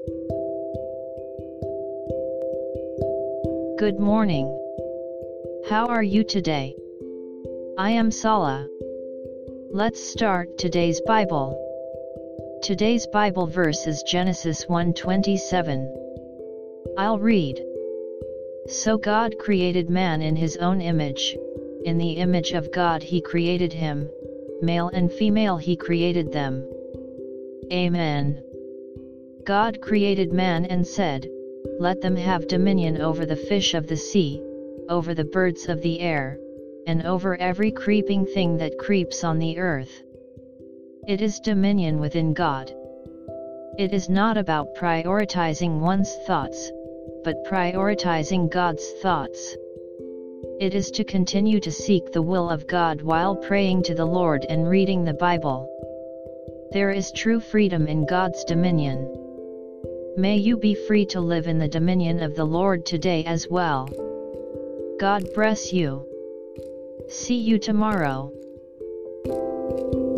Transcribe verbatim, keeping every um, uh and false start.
Good morning. How are you today? I am Sala. Let's start today's Bible. Today's Bible verse is Genesis one twenty-seven. I'll read. So God created man in his own image, in the image of God he created him, male and female he created them. Amen. God created man and said, "Let them have dominion over the fish of the sea, over the birds of the air, and over every creeping thing that creeps on the earth." It is dominion within God. It is not about prioritizing one's thoughts, but prioritizing God's thoughts. It is to continue to seek the will of God while praying to the Lord and reading the Bible. There is true freedom in God's dominion. May you be free to live in the dominion of the Lord today as well. God bless you. See you tomorrow.